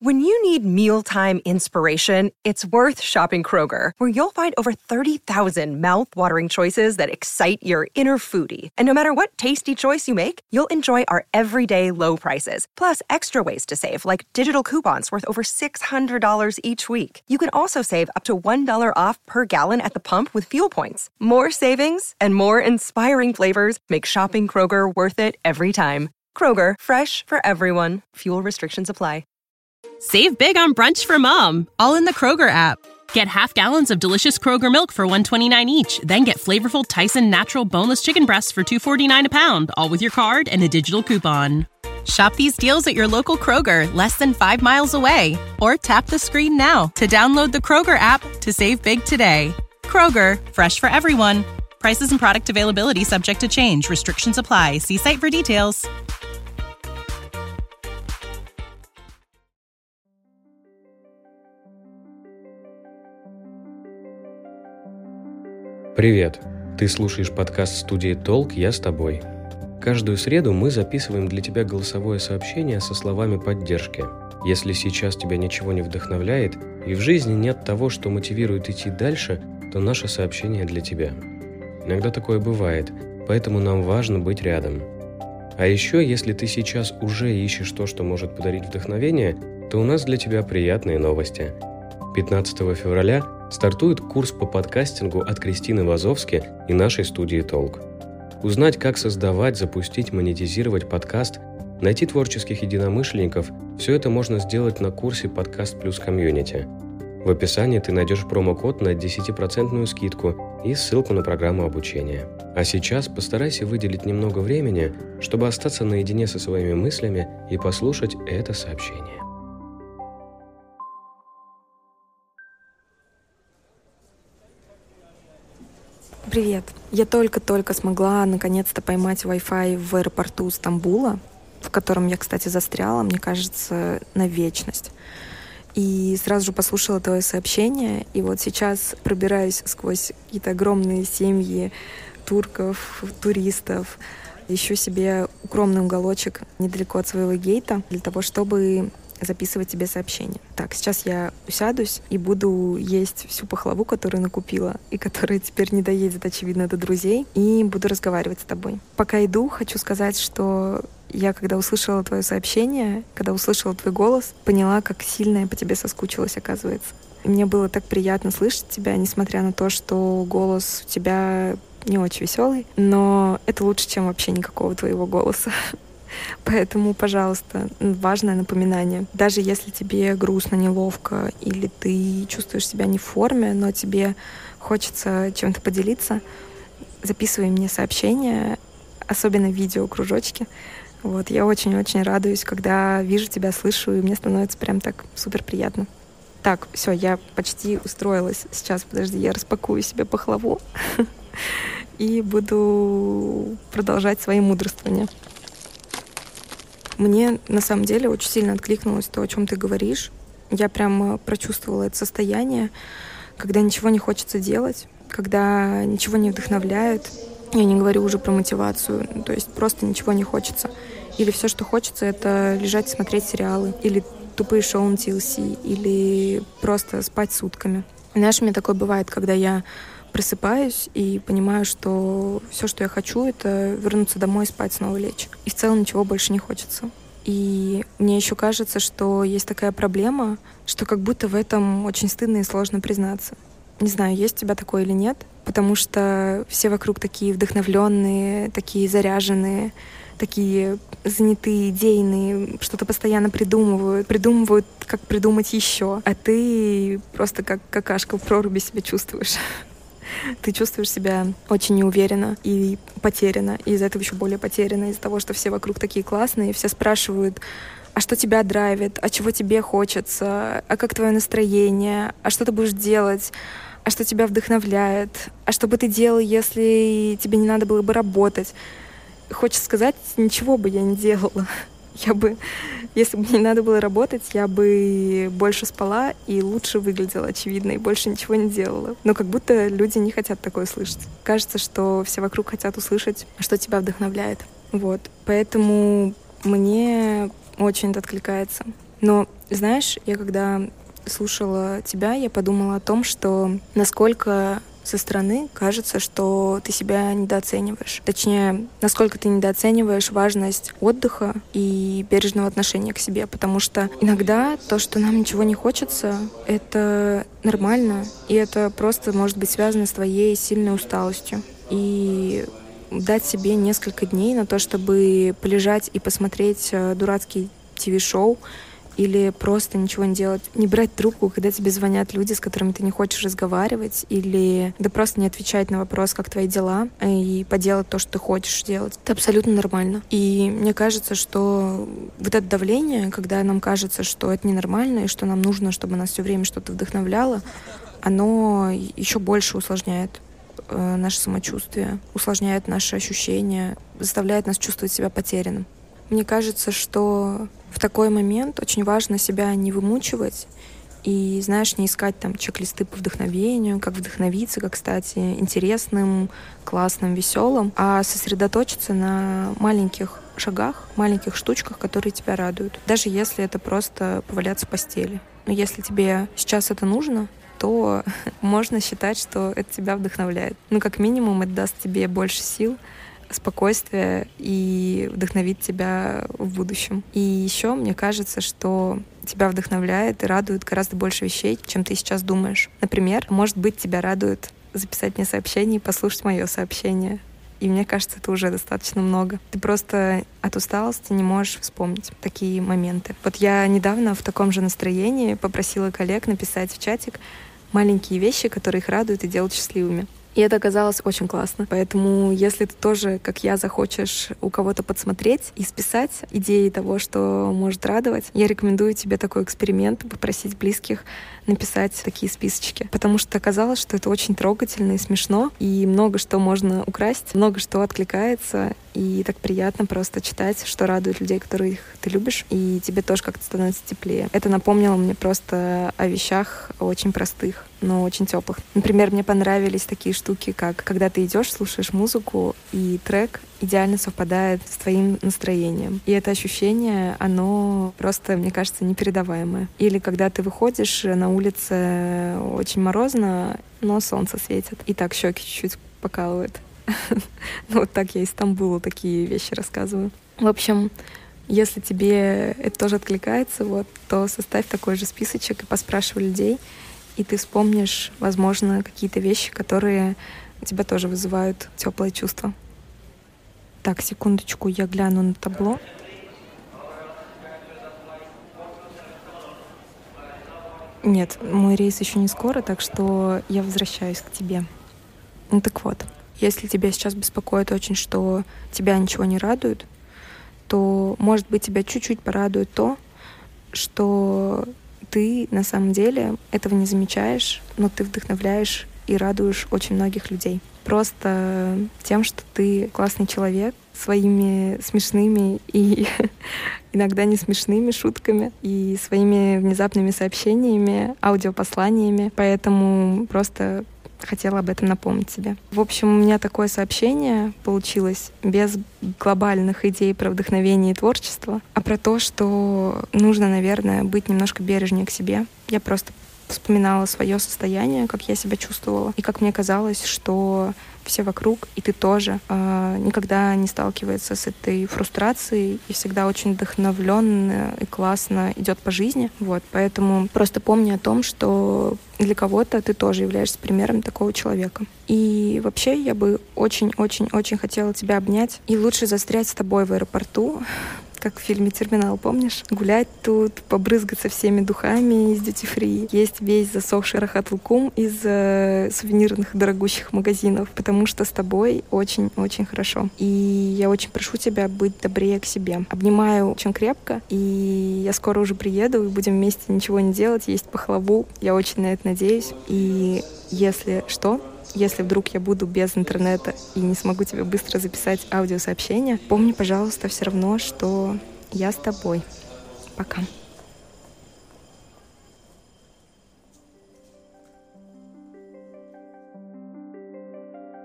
When you need mealtime inspiration, it's worth shopping Kroger, where you'll find over 30,000 mouth-watering choices that excite your inner foodie. And no matter what tasty choice you make, you'll enjoy our everyday low prices, plus extra ways to save, like digital coupons worth over $600 each week. You can also save up to $1 off per gallon at the pump with fuel points. More savings and more inspiring flavors make shopping Kroger worth it every time. Kroger, fresh for everyone. Fuel restrictions apply. Save big on brunch for mom, all in the Kroger app. Get half gallons of delicious Kroger milk for $1.29 each. Then get flavorful Tyson natural boneless chicken breasts for $2.49 a pound, all with your card and a digital coupon. Shop these deals at your local Kroger, less than 5 miles away. Or tap the screen now to download the Kroger app to save big today. Kroger, fresh for everyone. Prices and product availability subject to change. Restrictions apply. See site for details. Привет! Ты слушаешь подкаст студии «Толк», я с тобой. Каждую среду мы записываем для тебя голосовое сообщение со словами поддержки. Если сейчас тебя ничего не вдохновляет и в жизни нет того, что мотивирует идти дальше, то наше сообщение для тебя. Иногда такое бывает, поэтому нам важно быть рядом. А еще, если ты сейчас уже ищешь то, что может подарить вдохновение, то у нас для тебя приятные новости. 15 февраля стартует курс по подкастингу от Кристины Вазовски и нашей студии «Толк». Узнать, как создавать, запустить, монетизировать подкаст, найти творческих единомышленников – все это можно сделать на курсе «Подкаст плюс комьюнити». В описании ты найдешь промокод на 10% скидку и ссылку на программу обучения. А сейчас постарайся выделить немного времени, чтобы остаться наедине со своими мыслями и послушать это сообщение. Привет. Я только-только смогла наконец-то поймать Wi-Fi в аэропорту Стамбула, в котором я, кстати, застряла, мне кажется, на вечность. И сразу же послушала твое сообщение, и вот сейчас пробираюсь сквозь какие-то огромные семьи турков, туристов, ищу себе укромный уголочек недалеко от своего гейта для того, чтобы записывать тебе сообщения. Так, сейчас я усядусь и буду есть всю пахлаву, которую накупила, и которая теперь не доедет, очевидно, до друзей, и буду разговаривать с тобой. Пока иду, хочу сказать, что я, когда услышала твое сообщение, когда услышала твой голос, поняла, как сильно я по тебе соскучилась, оказывается. И мне было так приятно слышать тебя, несмотря на то, что голос у тебя не очень веселый, но это лучше, чем вообще никакого твоего голоса. Поэтому, пожалуйста, важное напоминание. Даже если тебе грустно, неловко, или ты чувствуешь себя не в форме, но тебе хочется чем-то поделиться, записывай мне сообщения, особенно видео-кружочки. Вот, я очень-очень радуюсь, когда вижу тебя, слышу, и мне становится прям так супер приятно. Так, все, я почти устроилась. Сейчас, подожди, я распакую себе пахлаву и буду продолжать свои мудрствования. Мне на самом деле очень сильно откликнулось то, о чем ты говоришь. Я прям прочувствовала это состояние, когда ничего не хочется делать, когда ничего не вдохновляет. Я не говорю уже про мотивацию, то есть просто ничего не хочется. Или все, что хочется, это лежать и смотреть сериалы, или тупые шоу на TLC, или просто спать сутками. Знаешь, у меня такое бывает, когда я просыпаюсь и понимаю, что все, что я хочу, это вернуться домой и спать, снова лечь. И в целом ничего больше не хочется. И мне еще кажется, что есть такая проблема, что как будто в этом очень стыдно и сложно признаться. Не знаю, есть у тебя такое или нет, потому что все вокруг такие вдохновленные, такие заряженные, такие занятые, идейные, что-то постоянно придумывают, как придумать еще. А ты просто как какашка в проруби себя чувствуешь. Ты чувствуешь себя очень неуверенно и потеряно, и из-за этого еще более потеряно, из-за того, что все вокруг такие классные, все спрашивают, а что тебя драйвит, а чего тебе хочется, а как твое настроение, а что ты будешь делать, а что тебя вдохновляет, а что бы ты делал, если тебе не надо было бы работать. Хочется сказать, ничего бы я не делала. Если бы мне не надо было работать, я бы больше спала и лучше выглядела, очевидно, и больше ничего не делала. Но как будто люди не хотят такое слышать. Кажется, что все вокруг хотят услышать, что тебя вдохновляет. Вот. Поэтому мне очень это откликается. Но, знаешь, я когда слушала тебя, я подумала о том, что насколько со стороны кажется, что ты себя недооцениваешь. Точнее, насколько ты недооцениваешь важность отдыха и бережного отношения к себе. Потому что иногда то, что нам ничего не хочется, это нормально. И это просто может быть связано с твоей сильной усталостью. И дать себе несколько дней на то, чтобы полежать и посмотреть дурацкий ТВ-шоу, или просто ничего не делать. Не брать трубку, когда тебе звонят люди, с которыми ты не хочешь разговаривать, или да просто не отвечать на вопрос, как твои дела, и поделать то, что ты хочешь делать. Это абсолютно нормально. И мне кажется, что вот это давление, когда нам кажется, что это ненормально, и что нам нужно, чтобы нас все время что-то вдохновляло, оно еще больше усложняет наше самочувствие, усложняет наши ощущения, заставляет нас чувствовать себя потерянным. Мне кажется, что в такой момент очень важно себя не вымучивать и, знаешь, не искать там чек-листы по вдохновению, как вдохновиться, как стать интересным, классным, веселым, а сосредоточиться на маленьких шагах, маленьких штучках, которые тебя радуют. Даже если это просто поваляться в постели. Но если тебе сейчас это нужно, то можно считать, что это тебя вдохновляет. Ну, как минимум, это даст тебе больше сил, спокойствие и вдохновит тебя в будущем. И еще мне кажется, что тебя вдохновляет и радует гораздо больше вещей, чем ты сейчас думаешь. Например, может быть, тебя радует записать мне сообщение и послушать мое сообщение. И мне кажется, это уже достаточно много. Ты просто от усталости не можешь вспомнить такие моменты. Вот я недавно в таком же настроении попросила коллег написать в чатик маленькие вещи, которые их радуют и делают счастливыми. И это оказалось очень классно. Поэтому, если ты тоже, как я, захочешь у кого-то подсмотреть и списать идеи того, что может радовать, я рекомендую тебе такой эксперимент, попросить близких написать такие списочки. Потому что оказалось, что это очень трогательно и смешно, и много что можно украсть, много что откликается, и так приятно просто читать, что радует людей, которых ты любишь, и тебе тоже как-то становится теплее. Это напомнило мне просто о вещах очень простых, но очень теплых. Например, мне понравились такие штуки, как когда ты идешь, слушаешь музыку, и трек идеально совпадает с твоим настроением. И это ощущение, оно просто, мне кажется, непередаваемое. Или когда ты выходишь, на улице очень морозно, но солнце светит, и так щеки чуть-чуть покалывает. Ну, вот так я из Стамбула такие вещи рассказываю. В общем, если тебе это тоже откликается, вот, то составь такой же списочек и поспрашивай людей, и ты вспомнишь, возможно, какие-то вещи, которые у тебя тоже вызывают теплые чувства. Так, секундочку, я гляну на табло. Нет, мой рейс еще не скоро, так что я возвращаюсь к тебе. Ну так вот, если тебя сейчас беспокоит очень, что тебя ничего не радует, то, может быть, тебя чуть-чуть порадует то, что ты на самом деле этого не замечаешь, но ты вдохновляешь и радуешь очень многих людей. Просто тем, что ты классный человек, своими смешными и иногда не смешными шутками и своими внезапными сообщениями, аудиопосланиями. Поэтому просто хотела об этом напомнить тебе. В общем, у меня такое сообщение получилось без глобальных идей про вдохновение и творчество, а про то, что нужно, наверное, быть немножко бережнее к себе. Я просто вспоминала свое состояние, как я себя чувствовала, и как мне казалось, что все вокруг, и ты тоже, никогда не сталкивается с этой фрустрацией и всегда очень вдохновленно и классно идет по жизни. Вот, поэтому просто помни о том, что для кого-то ты тоже являешься примером такого человека. И вообще я бы очень-очень-очень хотела тебя обнять и лучше застрять с тобой в аэропорту, как в фильме «Терминал», помнишь? Гулять тут, побрызгаться всеми духами из дьюти-фри, есть весь засохший рахат-лукум из сувенирных дорогущих магазинов, потому что с тобой очень-очень хорошо. И я очень прошу тебя быть добрее к себе. Обнимаю очень крепко, и я скоро уже приеду, и будем вместе ничего не делать, есть пахлаву. Я очень на это надеюсь. И если что, если вдруг я буду без интернета и не смогу тебе быстро записать аудиосообщение, помни, пожалуйста, все равно, что я с тобой. Пока.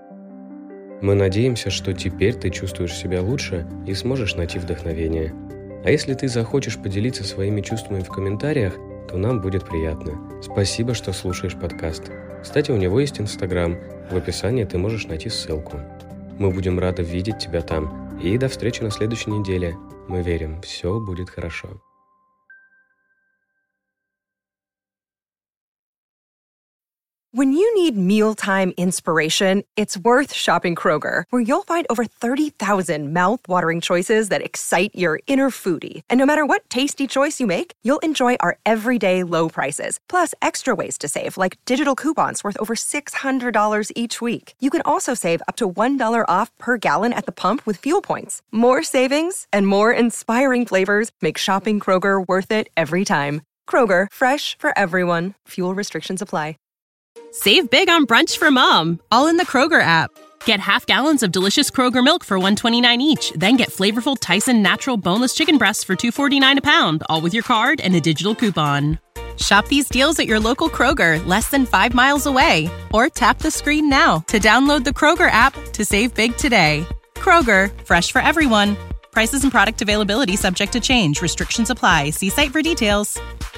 Мы надеемся, что теперь ты чувствуешь себя лучше и сможешь найти вдохновение. А если ты захочешь поделиться своими чувствами в комментариях, то нам будет приятно. Спасибо, что слушаешь подкаст. Кстати, у него есть Инстаграм. В описании ты можешь найти ссылку. Мы будем рады видеть тебя там. И до встречи на следующей неделе. Мы верим, все будет хорошо. When you need mealtime inspiration, it's worth shopping Kroger, where you'll find over 30,000 mouth-watering choices that excite your inner foodie. And no matter what tasty choice you make, you'll enjoy our everyday low prices, plus extra ways to save, like digital coupons worth over $600 each week. You can also save up to $1 off per gallon at the pump with fuel points. More savings and more inspiring flavors make shopping Kroger worth it every time. Kroger, fresh for everyone. Fuel restrictions apply. Save big on brunch for mom, all in the Kroger app. Get half gallons of delicious Kroger milk for $1.29 each. Then get flavorful Tyson natural boneless chicken breasts for $2.49 a pound, all with your card and a digital coupon. Shop these deals at your local Kroger, less than 5 miles away. Or tap the screen now to download the Kroger app to save big today. Kroger, fresh for everyone. Prices and product availability subject to change. Restrictions apply. See site for details.